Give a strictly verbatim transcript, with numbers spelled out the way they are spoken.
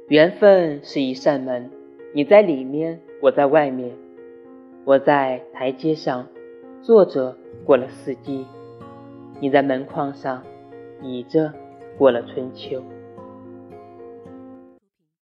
缘分是一扇门，你在里面，我在外面。我在台阶上坐着过了四季，你在门框上倚着过了春秋。